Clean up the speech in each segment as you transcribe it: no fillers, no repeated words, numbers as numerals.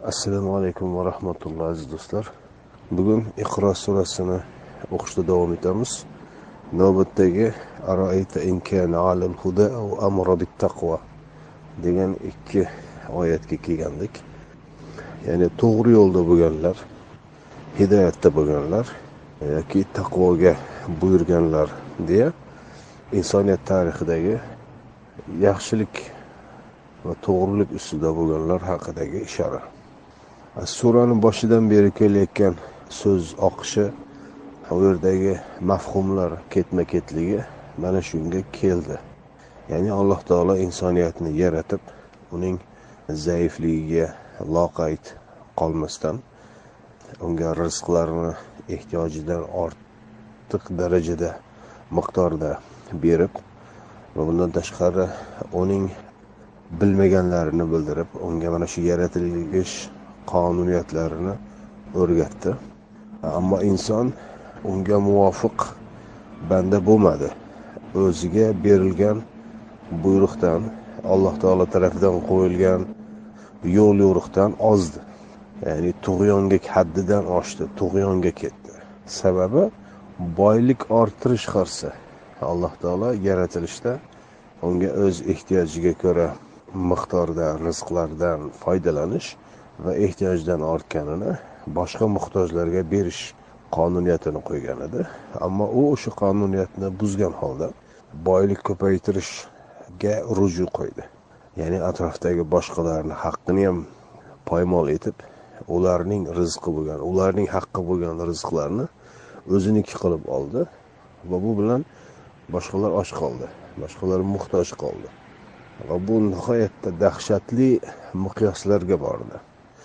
Assalomu alaykum va rahmatullohi aziz do'stlar. Bugun Iqro surasini o'qishda davom etamiz. Navbatdagi Aroayta in kana alal huda va amara bit taqwa degan ikki oyatga kelgandik. Ya'ni to'g'ri yo'lda bo'lganlar, hidoyatda bo'lganlar yoki taqvoga buyurganlar deya insoniyat tarixidagi yaxshilik va to'g'rilik ustida bo'lganlar haqidagi ishora. Suraning boshidan beri kelayotgan so'z oqishi, u yerdagi mafhumlar ketma-ketligi mana shunga keldi. Ya'ni Alloh taolo insoniyatni yaratib, uning zaifligiga loqayd qolmasdan, unga rizqlarni ehtiyojidan ortiq darajada miqdorda berib va bundan tashqari uning bilmaganlarini bildirib, unga mana shu yaratilish qonuniyatlarini o'rgatdi. Ammo inson unga muvofiq banda bo'lmadi. O'ziga berilgan buyruqdan, Alloh taolo tomonidan qo'yilgan yo'l yo'riqdan ozdi. Ya'ni tug'yonga haddidan oshdi, tug'yonga ketdi. Sababi boylik orttirish xirsi. Alloh taolo yaratilishda unga o'z ehtiyojiga ko'ra miqdorda rizqlardan foydalanish va ehtiyojdan ortganini boshqa muhtojlarga berish qonuniyatini qo'ygan edi. Ammo u o'sha qonuniyatni buzgan holda boylik ko'paytirishga ruju qo'ydi. Ya'ni atrofdagi boshqalarning haqqini ham poymol etib, ularning rizqi bo'lgan, ularning haqqi bo'lgan rizqlarni o'ziniki qilib oldi va bu bilan boshqalar och qoldi, boshqalar muhtoj qoldi. Va bu nihoyatda dahshatli miqyoslarga bordi.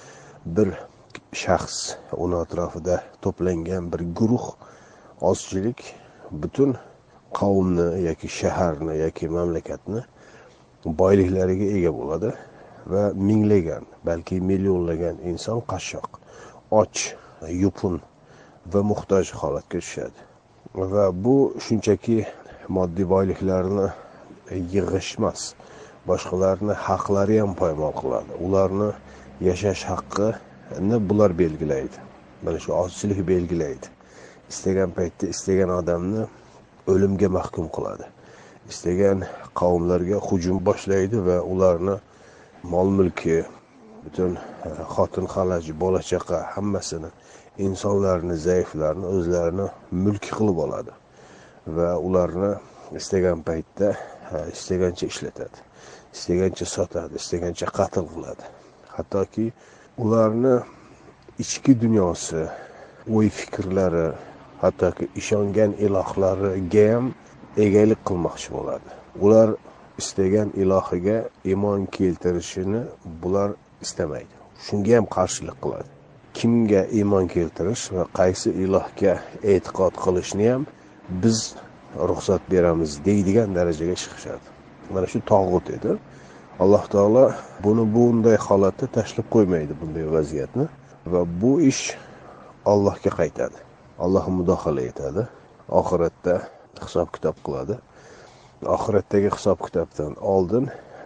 Bir shaxs, uni atrofida to'plangan bir guruh ozchilik butun qavmni yoki shaharni yoki mamlakatni boyliklariga ega bo'ladi va minglagan, balki millionlagan inson qashshoq, och, yupun va muhtoj holatga tushadi. Va bu shunchaki moddiy boyliklarni yig'ish emas, boshqalarni haqlari ham poymol qiladi. Ularni yashash haqqini bular belgilaydi. Mana shu ozchilik belgilaydi. Istagan paytda istagan odamni o'limga mahkum qiladi. Istagan qavmlarga hujum boshlaydi va ularni mol-mulki, butun xotin-xalaj, bola-chaqa hammasini, insonlarni, zaiflarni o'zlarini mulki qilib oladi va ularni istagan paytda istagancha ishlatadi, istagancha sotadi, istagancha qatl qiladi. Hattoki ularni ichki dunyosi, o'y-fikrlari, hattoki ishongan ilohlariga ham egalik qilmoqchi bo'ladi. Ular istagan ilohiga iymon keltirishini bular istamaydi. Shunga ham qarshilik qiladi. Kimga iymon keltirish va qaysi ilohga e'tiqod qilishni ham biz ruxsat beramiz deydigan darajaga chiqishadi. Mana shu tog'ut edi. Alloh taolo buni bunday holatda tashlab qo'ymaydi, bunday vaziyatni, va bu ish Allohga qaytadi. Alloh mudohala etadi. Oxiratda hisob-kitob qiladi. Oxiratdagi hisob-kitobdan oldin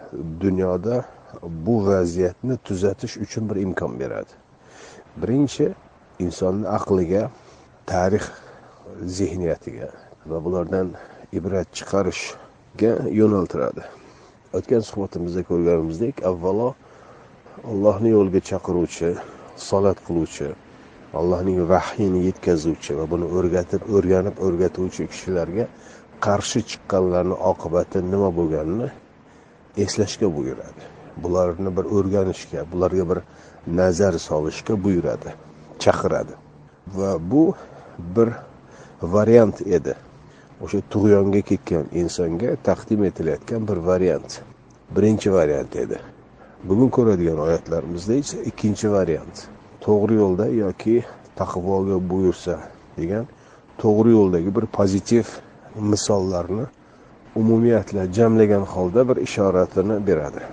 dunyoda bu vaziyatni tuzatish uchun bir imkon beradi. Birinchi, insonning aqliga, tarix zehniyatiga va bulardan ibrat chiqarishga yo'naltiradi. O'tgan suhbatimizda ko'rganimizdek, avvalo Allohning yo'liga chaqiruvchi, salat qiluvchi, Allohning vahyini yetkazuvchi va buni o'rganib o'rgatuvchi kishilarga qarshi chiqqanlarning oqibati nima bo'lganini eslashga buyuradi. Bularni bir o'rganishga, bularga bir nazar solishga buyuradi, chaqiradi. Va bu bir variant edi. O'sha tug'yonga ketgan insonga taqdim etilayotgan bir variant. Birinchi variant edi. Bugun ko'radigan oyatlarimizda esa ikkinchi variant. To'g'ri yo'lda yoki taqvoga buyursa degan to'g'ri yo'ldagi bir pozitiv misollarni umumiyatla jamlagan holda bir ishoratini beradi.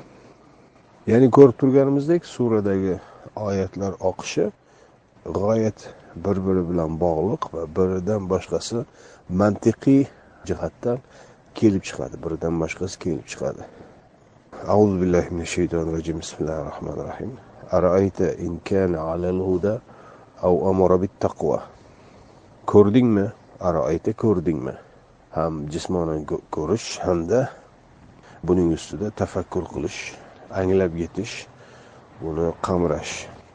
Ya'ni ko'rib turganimizdek, suradagi oyatlar oqishi g'oyat bir-biri bilan bog'liq va biridan boshqasi mantiqiy jihatdan kelib chiqadi, biridan boshqasi kelib chiqadi. Auzu billahi minash shaytonir rojim. Bismillahir rohmanir rohim. Ara'ayta in kana 'alal huda aw amara bit taqwa. Ko'rdingmi? Ara'ayta ko'rdingmi? Ham jismonan ko'rish hamda buning ustida tafakkur qilish, anglab yetish, buni qamrash.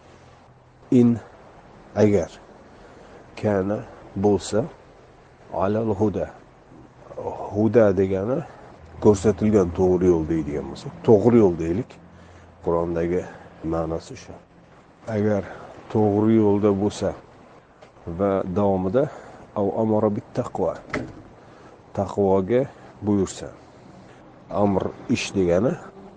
In agar kana bo'lsa 'alal huda. Huda degani ko'rsatilgan to'g'ri yo'l deydigan bo'lsa, to'g'ri yo'l deylik. Qur'ondagi ma'nosi shu. Agar to'g'ri yo'lda bo'lsa va davomida aw amara bit taqwa, taqvoga buyursa. Amr ish degani,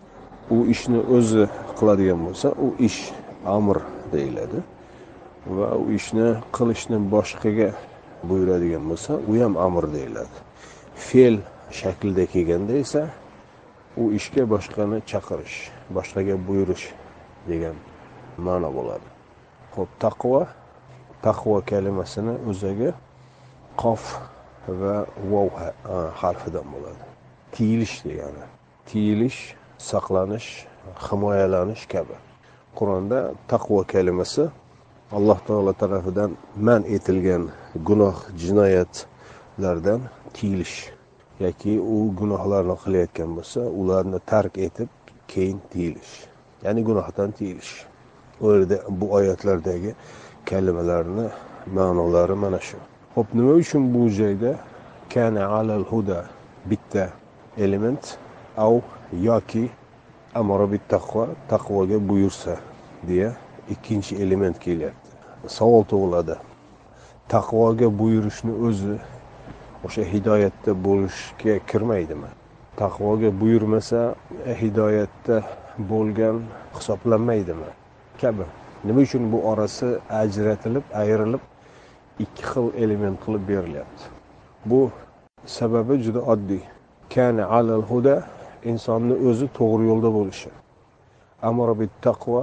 u ishni o'zi qiladigan bo'lsa, u ish amr deyiladi. Va u ishni qilishni boshqaga buyuradigan bo'lsa, u ham amr deyiladi. Fe'l shaklida kelganda esa u ishga boshqani chaqirish, boshqaga buyurish degan ma'no bo'ladi. Xo'p, taqvo kalimasini o'ziga qof va vav harfidan bo'ladi. Tiyilish degani. Tiyilish, saqlanish, himoyalanish kabi. Qur'onda taqvo kalimasi Alloh taolo tarafidan man etilgan gunoh, jinoyatlardan tiyilish yoki u gunohlarni qilayotgan bo'lsa, ularni tark etib, keyin tiyilish. Ya'ni gunohdan tiyilish. O yerda bu oyatlardagi kalimalarning ma'nolari mana shu. Xo'p, nima uchun bu joyda kana 'alal huda bitta element aw yoki amara bit taqvo, taqvoga buyursa deya ikkinchi element kelyapti. Savol tug'iladi. Taqvoga buyurishni o'zi o'sha hidoyatda bo'lishga kirmaydimi? Taqvoga buyurmasa, hidoyatda bo'lgan hisoblanmaydimi? Kabi. Nima uchun bu orasi ajratilib, ayrilib ikki xil element qilib berilyapti? Bu sababi juda oddiy. Kana 'alal huda insonni o'zi to'g'ri yo'lda bo'lishi. Amara bit taqvo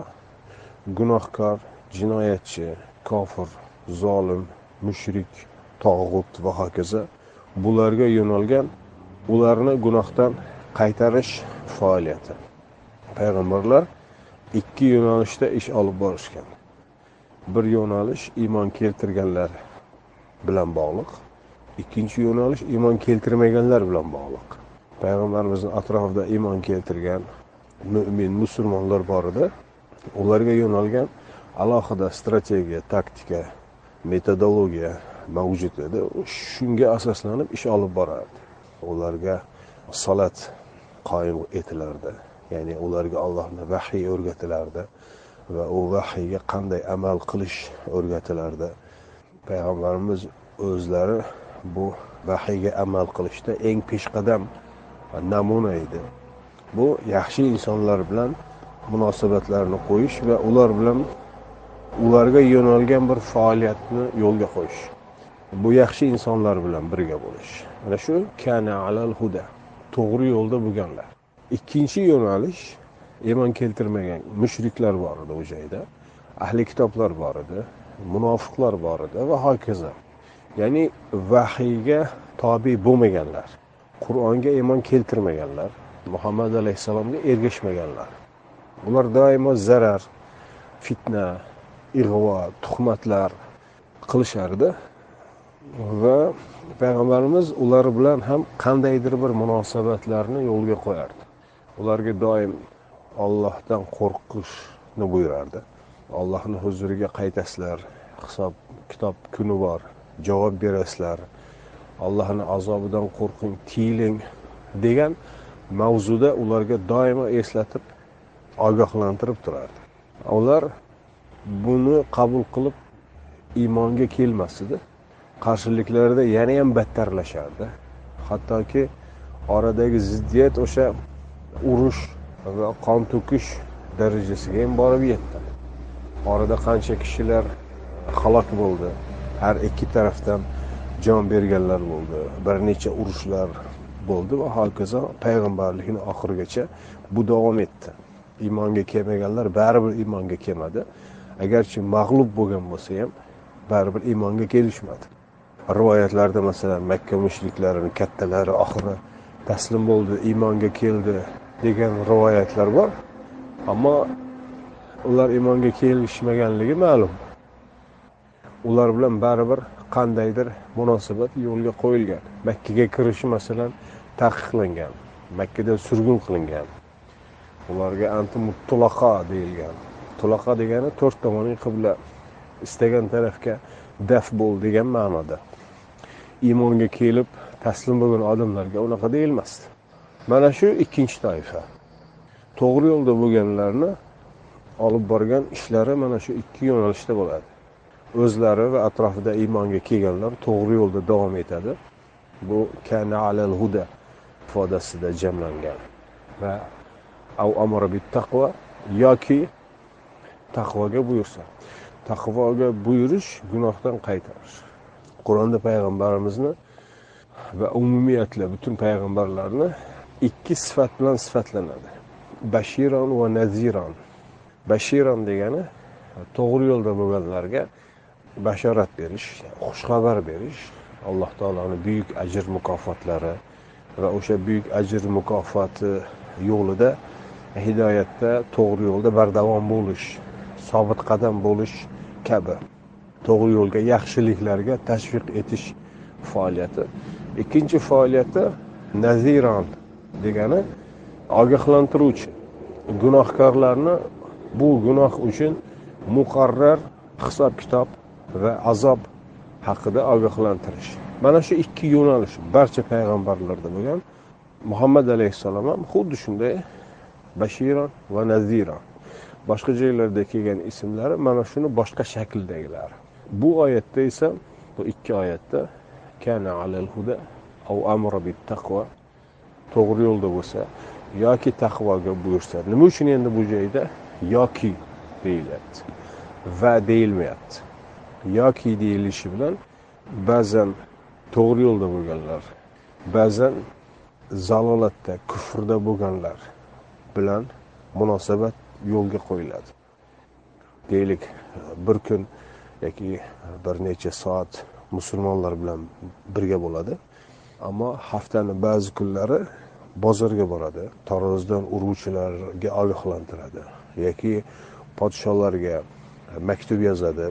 gunohkor, jinoyatchi, kofir, zolim, mushrik, tog'ut va hokazo bularga yo'nalgan ularni gunohdan qaytarish faoliyati. Payg'ambarlar ikki yo'nalishda ish olib borishgan. Bir yo'nalish iymon keltirganlar bilan bog'liq, ikkinchi yo'nalish iymon keltirmaganlar bilan bog'liq. Payg'ambarimizning atrofida iymon keltirgan mu'min musulmonlar bor edi. Ularga yo'nalgan alohida strategiya, taktika, metodologiya mavjud edi. Shunga asoslanib ish olib borardi. Ularga salat qoyim etilardi. Ya'ni ularga Allohning vahiy o'rgatilardi va u vahiyga qanday amal qilish o'rgatilardi. Payg'ambarimiz o'zlari bu vahiyga amal qilishda eng peshqadam namuna edi. Bu yaxshi insonlar bilan munosabatlarni qo'yish va ular bilan ularga yo'nalgan bir faoliyatni yo'lga qo'yish. Bu yaxshi insonlar bilan birga bo'lish. Mana shu kana 'alal huda, to'g'ri yo'lda bo'lganlar. Ikkinchi yo'nalish iymon keltirmagan mushriklar bor edi o joyda, ahli kitoblar bor edi, munofiqlar bor edi va hokazo. Ya'ni vahiyga tobe bo'lmaganlar, Qur'onga iymon keltirmaganlar, Muhammad alayhisalomga ergashmaganlar. Ular doimo zarar, fitna, ig'vo, tuhmatlar qilishardi va payg'ambarimiz ular bilan ham qandaydir bir munosabatlarni yo'lga qo'yardi. Ularga doim Allohdan qo'rqishni buyurardi. Allohning huzuriga qaytasizlar, hisob kitob kuni bor, javob berasizlar. Allohning azobidan qo'rqing, tiyiling degan mavzuda ularga doimo eslatib ogohlantirib turardi. Ular buni qabul qilib iymonga kelmasdi. Qarshiliklarda yana ham battarlashardi. Hattoki oradagi ziddiyat o'sha urush va qon to'kish darajasiga ham borib yetdi. Orada qancha kishilar halok bo'ldi. Har ikki tarafdan jon berganlar bo'ldi. Bir necha urushlar bo'ldi va hokazo payg'ambarlikning oxirigacha bu davom etdi. Iymonga kelmaganlar baribir iymonga kelmadi. Agarchi mag'lub bo'lgan bo'lsa ham baribir iymonga kelishmadi. Rivoyatlarda masalan Makka mushriklarining kattalari oxiri taslim bo'ldi, iymonga keldi degan rivoyatlar bor. Ammo ular iymonga kelishmaganligi ma'lum. Ular bilan baribir qandaydir munosabat yo'lga qo'yilgan. Makkaga kirishi masalan taqiqlangan. Makkadan surgun qilingan. Ularga anti-mutlaqa deyilgan. Mutlaqa degani to'rt tomonli qibla, istagan tarafga daf bo'l degan ma'noda. Iymonga kelib taslim bo'lgan odamlarga unaqa deyilmasdi. Mana shu ikkinchi toifa. To'g'ri yo'lda bo'lganlarni olib borgan ishlari mana shu ikki yo'nalishda bo'ladi. O'zlari va atrofida iymonga kelganlar to'g'ri yo'lda davom etadi. Bu kana alal huda ifodasida jamlangan. Va av amara bit taqvo yoki taqvoga buyursa. Taqvoga buyurish gunohdan qaytarish. Qur'onda payg'ambarimizni va umumiyatla butun payg'ambarlarni ikki sifat bilan sifatlanadi. Bashiron va naziron. Bashiron degani to'g'ri yo'lda bo'lganlarga bashorat berish, xushxabar berish, Alloh taolaning buyuk ajr mukofotlari va o'sha buyuk ajr mukofoti yo'lida hidoyatda to'g'ri yo'lda bardavom bo'lish, sobit qadam bo'lish kabi to'g'ri yo'lga, yaxshiliklarga tashviq etish faoliyati. Ikkinchi faoliyati naziron degani ogohlantiruvchi. Gunohkorlarni bu gunoh uchun muqarrar hisob-kitob va azob haqida ogohlantirish. Mana shu ikki yo'nalish barcha payg'ambarlarda bo'lgan. Muhammad alayhissalom ham xuddi shunday bashiron va naziron. Boshqa joylarda kelgan ismlari mana shuni boshqa shakldagilar. Bu oyatda esa, bu ikki oyatda kana alal huda aw amara bit taqvo, to'g'ri yo'lda bo'lsa yoki taqvoga buyursa. Nima uchun endi bu joyda yoki deyilyapti va deyilmayapti? Yoki deyilishi bilan ba'zan to'g'ri yo'lda bo'lganlar, ba'zan zalolatda, kufrda bo'lganlar bilan munosabat yo'lga qo'yiladi. Deylik, bir kun yoki bir necha soat musulmonlar bilan birga bo'ladi, ammo haftaning ba'zi kunlari bozorga boradi, tarozdan uruvchilarga ogohlantiradi yoki podsholarga maktub yozadi,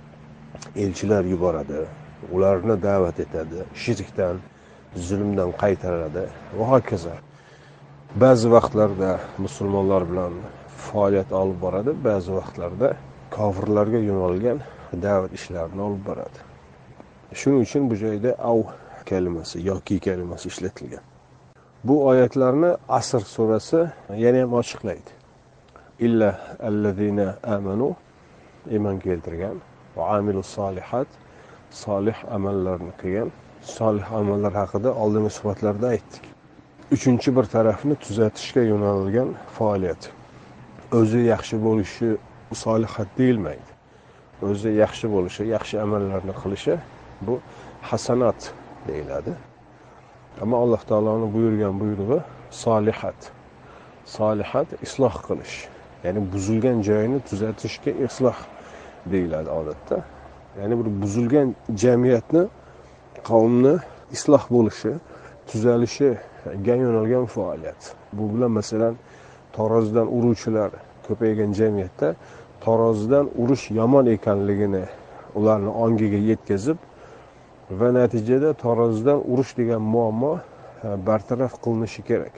elchilar yuboradi, ularni da'vat etadi, shirkdan, zulmdan qaytaradi va hokazo. Ba'zi vaqtlarda musulmonlar bilan faoliyat olib boradi, ba'zi vaqtlarda kofirlarga yo'nalgan da'vat ishlarini olib boradi. Shuning uchun bu joyda av kalimasi yoki kalimasi ishlatilgan. Bu oyatlarni Asr surasi yana ham ochiqlaydi. Illa allazina amanu, iymon keltirgan, va amilus solihat, solih amallarni qilgan. Solih amallar haqida oldingi suhbatlarda aytdik. Uchinchi bir tarafni tuzatishga yo'nalgan faoliyat. O'zi yaxshi bo'lishi solihat deyilmaydi. O'zi yaxshi bo'lishi, yaxshi amallarni qilishi bu hasanat deyiladi. Ammo Alloh taoloning buyurgan buyrug'i solihat. Solihat isloh qilish. Ya'ni buzilgan joyini tuzatishga isloh deyiladi odatda. Ya'ni bir buzilgan jamiyatni, qavmni isloh bo'lishi, tuzalishiga yo'nalgan faoliyat. Bu bilan masalan tarozidan uruvchilar ko'paygan jamiyatda tarozidan urush yomon ekanligini ularni ongiga yetkazib va natijada tarozidan urush degan muammo bartaraf qilinishi kerak.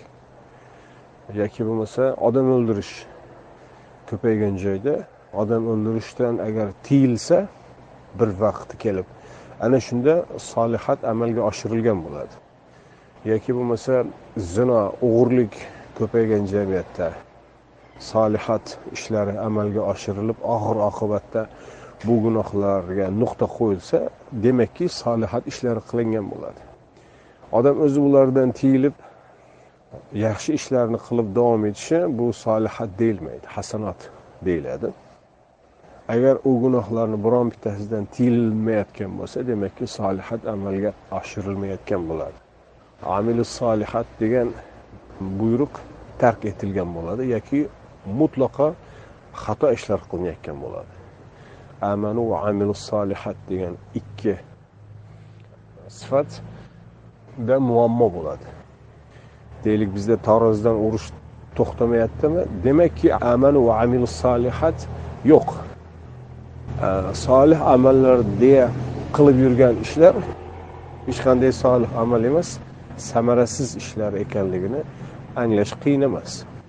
Yoki bo'lmasa odam o'ldirish ko'paygan joyda odam o'ldirishdan agar tiyilsa bir vaqti kelib, ana shunda solihat amalga oshirilgan bo'ladi. Yoki bo'lmasa zino, o'g'irlik ko'paygan jamiyatda solihat ishlari amalga oshirilib, oxir oqibatda bu gunohlarga nuqta qo'yilsa, demakki solihat ishlari qilingan bo'ladi. Odam o'zi ulardan tiyilib yaxshi ishlarni qilib davom etishi bu solihat deyilmaydi, hasanat deyiladi. Agar u gunohlarni biron bittasidan tiyilmayotgan bo'lsa, demakki solihat amalga oshirilmayotgan bo'ladi. Amilus solihat degan buyruq tark etilgan bo'ladi yoki mutlaqo xato ishlar qilinayotgan bo'ladi. Amanu va amilus solihat degan ikki sifatda muammo bo'ladi. Deylik, bizda tarozidan urush to'xtamayaptimi? Demakki, amanu va amilus solihat yo'q. Solih amallar deya qilib yurgan ishlar hech qanday solih amal emas, samarasiz ishlar ekanligini anglash qiyin emas.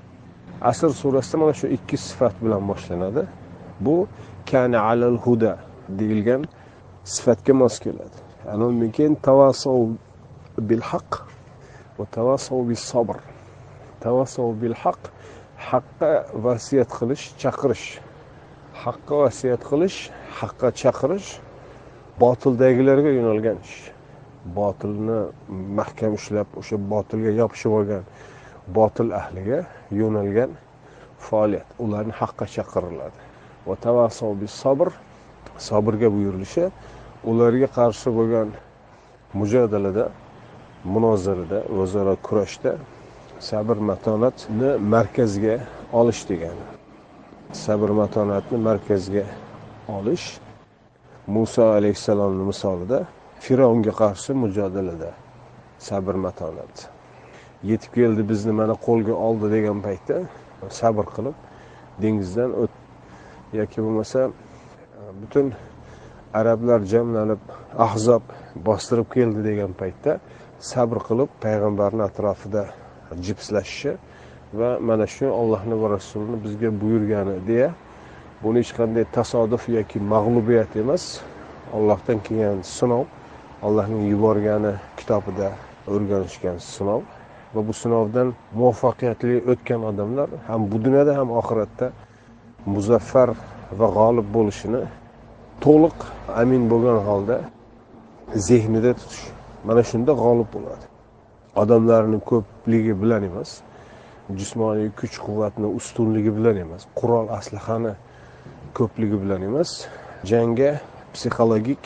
Asr surasida mana shu ikki sifat bilan boshlanadi. Bu kana alal huda deyilgan sifatga mos keladi. Undan keyin tavassov bil haqq va tavassov bis sabr. Tavassov bil haqq, haqqa vasiyat qilish, chaqirish. Haqqa vasiyat qilish, haqqa chaqirish botildagilarga yo'nalgan ish. Botilni mahkam ushlab, o'sha botilga yopishib olgan botil ahliga yo'nalgan faoliyat. Ularni haqqa chaqiriladi. Va tavassov bis sabr, sabrga buyurilishi, ularga qarshi bo'lgan mujodalada, munozarada, o'zaro kurashda sabr matonatni markazga olish degani. Sabr matonatni markazga olish Musa alayhisalomning misolida Firavunga qarshi mujodalada sabr matonat. Yetib keldi, bizni mana qo'lga oldi degan paytda sabr qilib dengizdan yoki bo'lmasa butun arablar jamlanib Ahzob bostirib keldi degan paytda sabr qilib payg'ambarning atrofida jipslashishi va mana shu Allohning va Rasulining bizga buyurgani deya, buni hech qanday tasodif yoki mag'lubiyat emas, Allohdan kelgan sinov, Allohning yuborgani kitobida o'rganishgan sinov va bu sinovdan muvaffaqiyatli o'tgan odamlar ham bu dunyoda ham oxiratda muzaffar va g'olib bo'lishini to'liq amin bo'lgan holda zehnida tutish. Mana shunda g'olib bo'ladi. Odamlarning ko'pligi bilan emas, jismoniy kuch-quvvatning ustunligi bilan emas, qurol aslahani ko'pligi bilan emas, jangga psixologik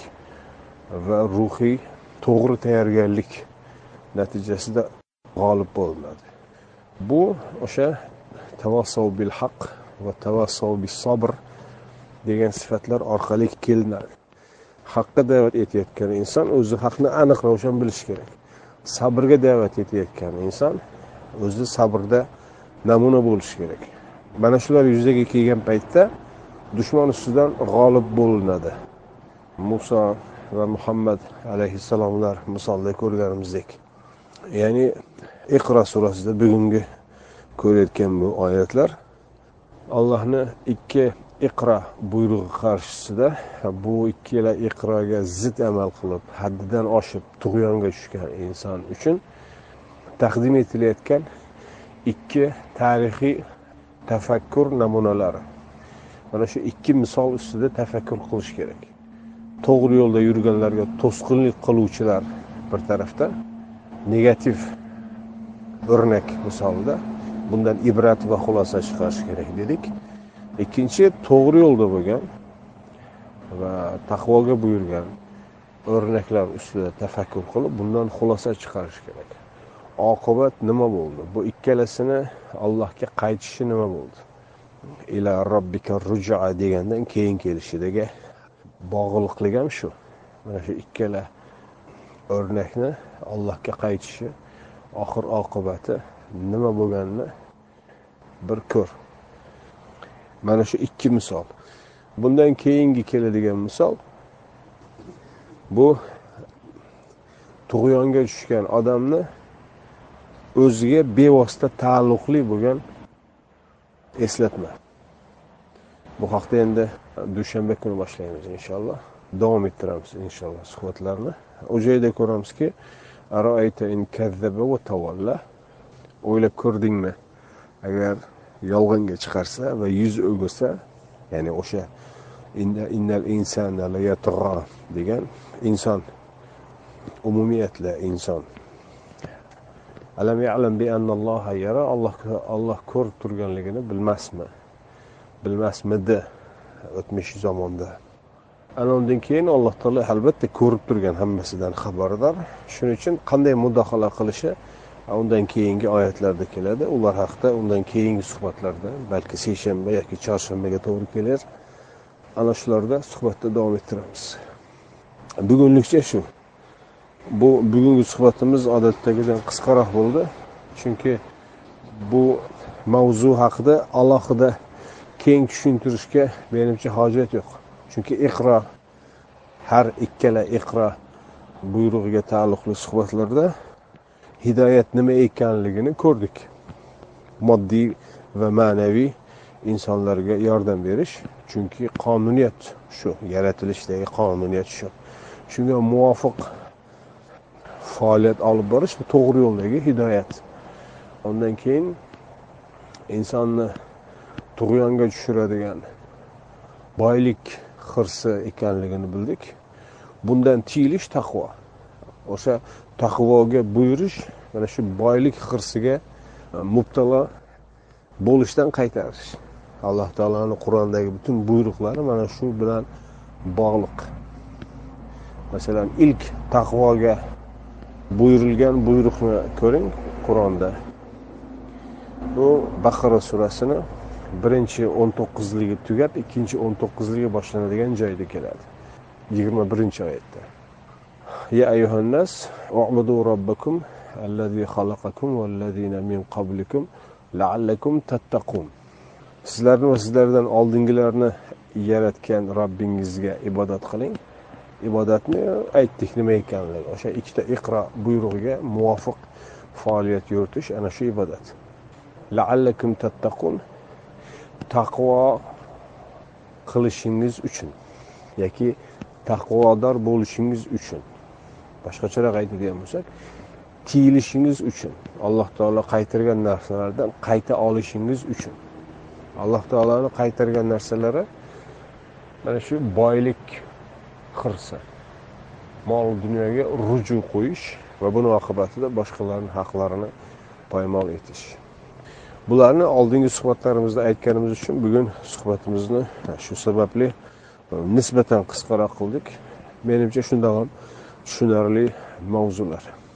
va ruhiy to'g'ri tayyorgarlik natijasida g'olib bo'linadi. Bu o'sha tavassov bil haqq va tavassov bis sabr degan sifatlar orqali kelinadi. Haqqa da'vat etayotgan inson o'zi haqni aniq ravshan bilishi kerak. Sabrga da'vat etayotgan inson o'zi sabrda namuna bo'lishi kerak. Mana shular yuzaga kelgan paytda dushman ustidan g'olib bo'linadi. Musa va Muhammad alayhissalomlar misolda ko'rganimizdek. Ya'ni Iqro surasida bugungi ko'rayotgan bu oyatlar Allohning ikki Iqro buyrug'i qarshisida bu ikkala Iqroga zid amal qilib, haddidan oshib tug'yonga tushgan inson uchun taqdim etilayotgan ikki tarixiy tafakkur namunalari. Mana shu ikki misol ustida tafakkur qilish kerak. To'g'ri yo'lda yurganlarga to'sqinlik qiluvchilar bir tarafda, negativ o'rnak misolida bundan ibrat va xulosa chiqarish kerak dedik. Ikkinchi, to'g'ri yo'lda bo'lgan va taqvoga buyurgan o'rnaklar ustida tafakkur qilib, bundan xulosa chiqarish kerak. Oqibat nima bo'ldi? Bu ikkalasini Allohga qaytishi nima bo'ldi? Ila robbika ruj'a degandan keyin kelishidagi bog'liqlik ham shu. Mana shu ikkala o'rnakni Allohga qaytishi, oxir oqibati nima bo'lganini bir ko'r. Mana shu ikki misol. Bundan keyingi keladigan misol bu tug'yonga tushgan odamni o'ziga bevosita taalluqli bo'lgan eslatma. Bu haqda endi dushanba kuni boshlaymiz inshaalloh. Davom ettiramiz inshaalloh suhbatlarni. O joyda ko'ramizki, aroayta in kazzaba va tawalla. O'ylab ko'rdingmi? Agar yolg'onga chiqarsa va yuz o'girsa, ya'ni o'sha innal insana la yatgha degan inson, umumiyatla inson. Alam ya'lam bi anna Alloha yara, Alloh ko'rib turganligini bilmasmi? Bilmasmidi o'tmish zamonda. Anondan keyin Alloh taolo albatta ko'rib turgan, hammasidan xabardor. Shuning uchun qanday mudohala qilishi undan keyingi oyatlarda keladi. Ular haqida undan keyingi suhbatlarda, balki seshanba yoki chorshanbaga to'g'ri kelar. Ana shularda suhbatda davom ettiramiz. Bugunlikcha shu. Bu bugungi suhbatimiz odatdagidan qisqaroq bo'ldi. Chunki bu mavzu haqida alohida keng tushuntirishga menimcha hojat yo'q. Chunki iqro, har ikkala iqro buyrug'iga taalluqli suhbatlarda hidoyat nima ekanligini ko'rdik. Moddiy va ma'naviy insonlarga yordam berish, chunki qonuniyat shu, yaratilishdagi qonuniyat shu. Shunga muvofiq faoliyat olib borish to'g'ri yo'ldagi hidoyat. Ondan keyin insonni tug'yonga tushiradigan boylik xirsi ekanligini bildik. Bundan tiyilish taqvo. O'sha taqvoga buyurish mana shu boylik xirsiga mubtalo bo'lishdan qaytarish. Alloh taolaning Qur'ondagi butun buyruqlari mana shu bilan bog'liq. Masalan, ilk taqvoga buyurilgan buyruqni ko'ring Qur'onda. Bu Baqara surasini birinchi 19ligi tugab, ikkinchi 19ligi boshlanadigan joyda keladi. 21-oyatda. Ya ayyuhannas, u'budu robbakum allazi xalaqakum vallazina min qablikum la'allakum tattaqun. Sizlarni va sizlardan oldingilarni yaratgan Robbingizga ibodat qiling. Ibodatni aytdik nima ekanligi. O'sha ikkita iqro buyrug'iga muvofiq faoliyat yuritish ana shu ibodat. La'allakum tattaqun, taqvo qilishingiz uchun yoki taqvodor bo'lishingiz uchun. Boshqacharoq aytadigan bo'lsak, tiyilishingiz uchun, Alloh taolo qaytargan narsalardan qayta olishingiz uchun. Alloh taolaning qaytargan narsalari mana shu boylik xirsi, mol dunyoga ruju qo'yish va buning oqibatida boshqalarning haqlarini poymol etish. Bularni oldingi suhbatlarimizda aytganimiz uchun bugun suhbatimizni shu sababli nisbatan qisqaroq qildik. Menimcha shunday ham tushunarli mavzular.